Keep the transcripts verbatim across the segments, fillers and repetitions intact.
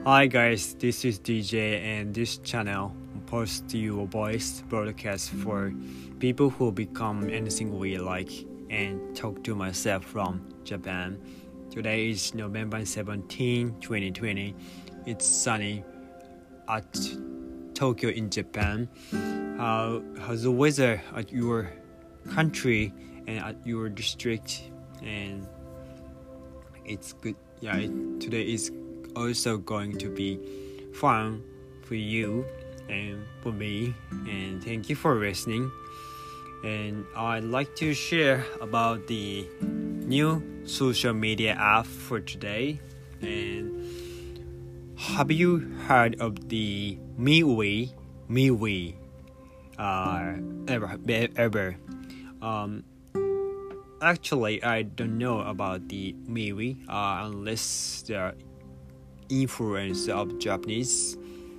Hi guys, this is D J and this channel posts you a voice broadcast for people who become anything we like and talk to myself from Japan. Today is November seventeenth, twenty twenty. It's sunny at Tokyo in Japan. How how's the weather at your country and at your district? And it's good. Yeah, it, today is also going to be fun for you and for me, and thank you for listening. And I'd like to share about the new social media app for today. And have you heard of the MeWe? MeWe uh, ever ever um actually I don't know about the MeWe uh, unless the influence of Japanese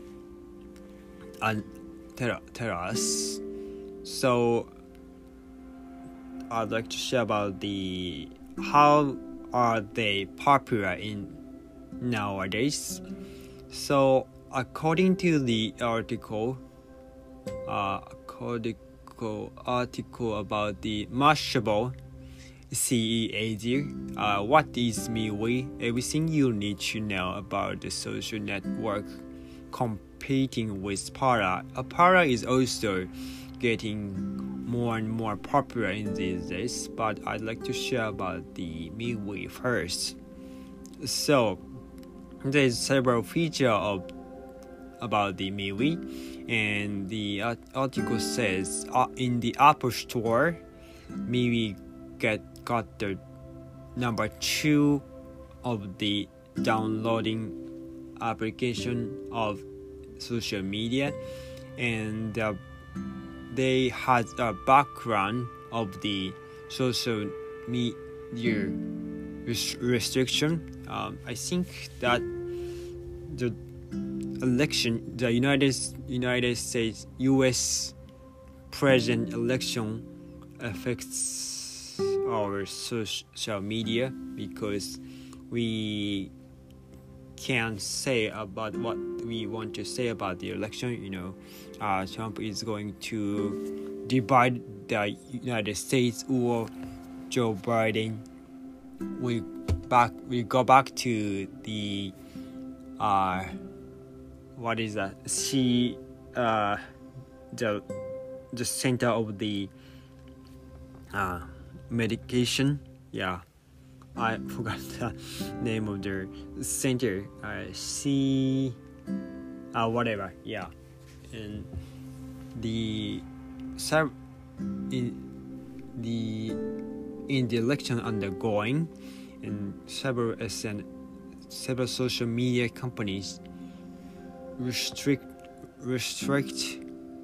and tell, tell us. So I'd like to share about the how are they popular in nowadays. So according to the article uh according article about the Mashable C E A D, uh, what is MeWe? Everything you need to know about the social network competing with Para. Uh, Para is also getting more and more popular in these days, but I'd like to share about the MeWe first. So there's several features of about the MeWe, and the uh, article says uh, in the Apple Store, MeWe get got the number two of the downloading application of social media, and uh, they had a background of the social media res- restriction. Um, I think that the election, the United United States U S president election affects our social media because we can't say about what we want to say about the election. You know, uh, Trump is going to divide the United States, or Joe Biden. We back. We go back to the uh, what is that? See, uh, the the center of the uh. medication. Yeah, I forgot the name of the center. I uh, see uh whatever. Yeah, and the in the in the election undergoing, and several and several social media companies restrict restrict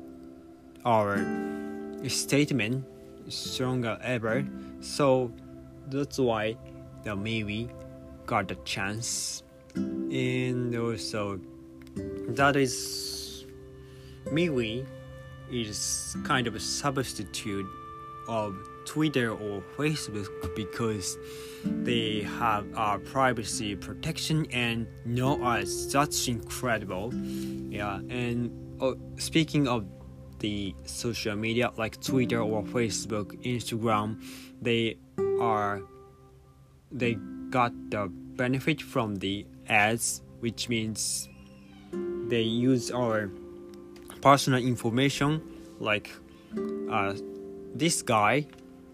our statement stronger ever, so that's why the MeWe got a chance. And also that is MeWe is kind of a substitute of Twitter or Facebook because they have our privacy protection, and no us. That's incredible. Yeah, and oh, speaking of the social media like Twitter or Facebook, Instagram, they are they got the benefit from the ads, which means they use our personal information, like uh, this guy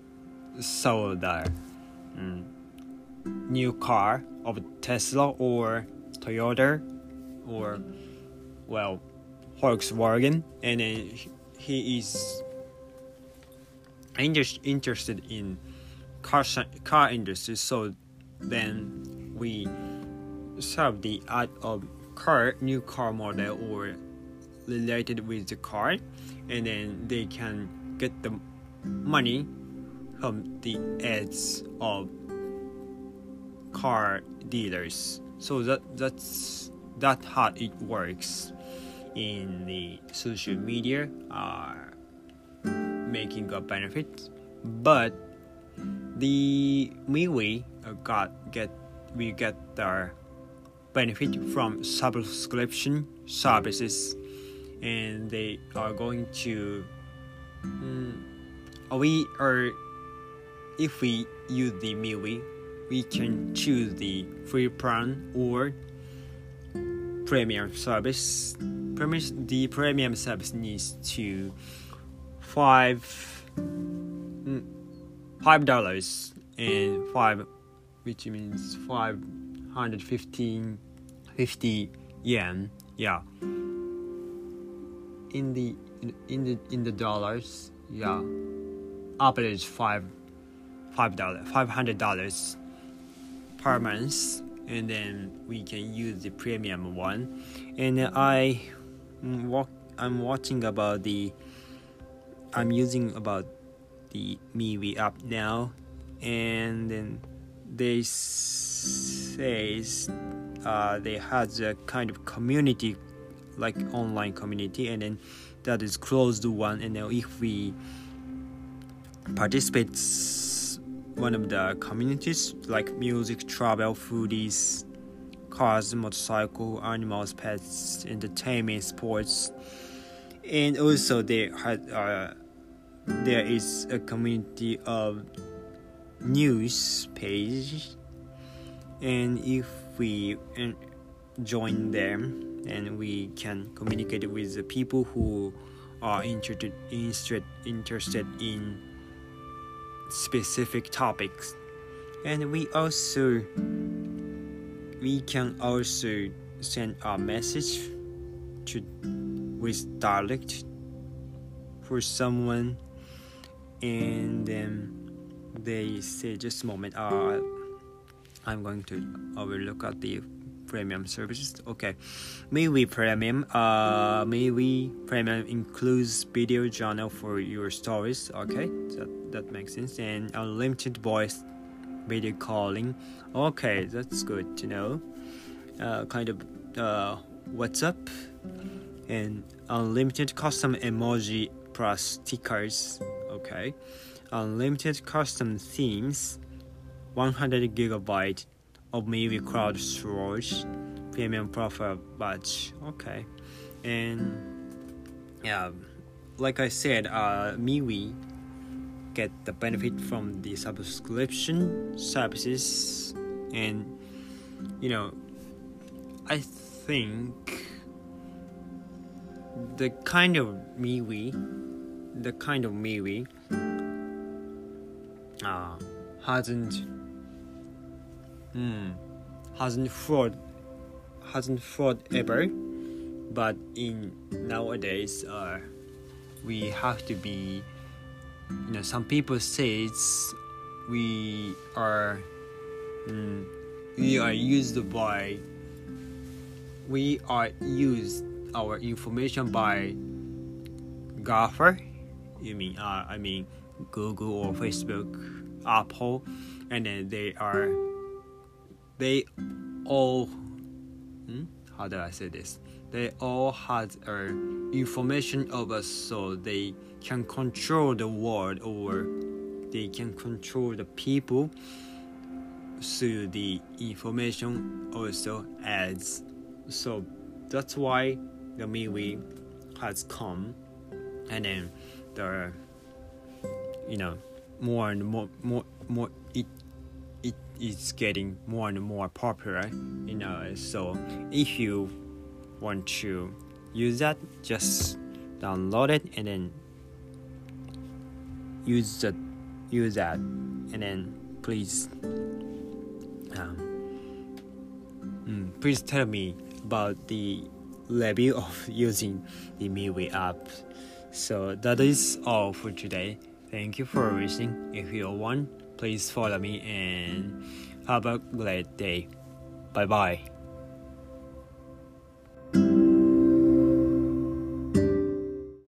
saw the um, new car of Tesla or Toyota or well Volkswagen, and then he is inter- interested in car car industry. So then we serve the ad of car, new car model or related with the car, and then they can get the money from the ads of car dealers. So that that's that how it works in the social media, are making a benefit. But the MeWe uh, got get we get the benefit from subscription services, and they are going to mm, we are if we use the MeWe, we can choose the free plan or premium service. Premium, the premium service needs to five five dollars and five, which means five hundred fifteen fifty yen. Yeah. In the in the in the dollars, yeah, average five five dollar five hundred dollars per month, and then we can use the premium one. And I walk I'm watching about the I'm using about the MeWe app now, and then they says uh, they has a kind of community, like online community, and then that is closed one, and then if we participate one of the communities like music, travel, foodies, cars, motorcycle, animals, pets, entertainment, sports, and also there had uh, there is a community of news page, and if we uh, join them, and we can communicate with the people who are interested interested interested in specific topics. And we also we can also send a message to with dialect for someone, and then they say, just a moment, uh I'm going to overlook at the premium services. Okay, MeWe Premium. Uh, MeWe Premium includes video journal for your stories. Okay, that that makes sense. And unlimited voice video calling. Okay, that's good to know. Uh, kind of uh, WhatsApp, and unlimited custom emoji plus stickers. Okay, unlimited custom themes. one hundred gigabyte of MeWe cloud storage, premium profile badge. Okay, and yeah, like I said, uh, MeWe get the benefit from the subscription services, and you know, I think the kind of MeWe, the kind of MeWe, uh, hasn't. Hmm, hasn't fraud hasn't fraud ever, but in nowadays uh we have to be, you know, some people say it's we are mm, we are used by we are used our information by GAFA. You mean uh, I mean Google or Facebook, Apple, and then they are They all, hmm? how do I say this? They all had uh, information of us, so they can control the world, or they can control the people through the information also adds. So that's why the MeWe has come, and then the, you know, more and more, more, more it. It is getting more and more popular, you know. So if you want to use that, just download it and then use that. Use that, and then please, um, mm, please tell me about the review of using the MeWe app. So that is all for today. Thank you for listening. If you want, please follow me and have a great day. Bye bye.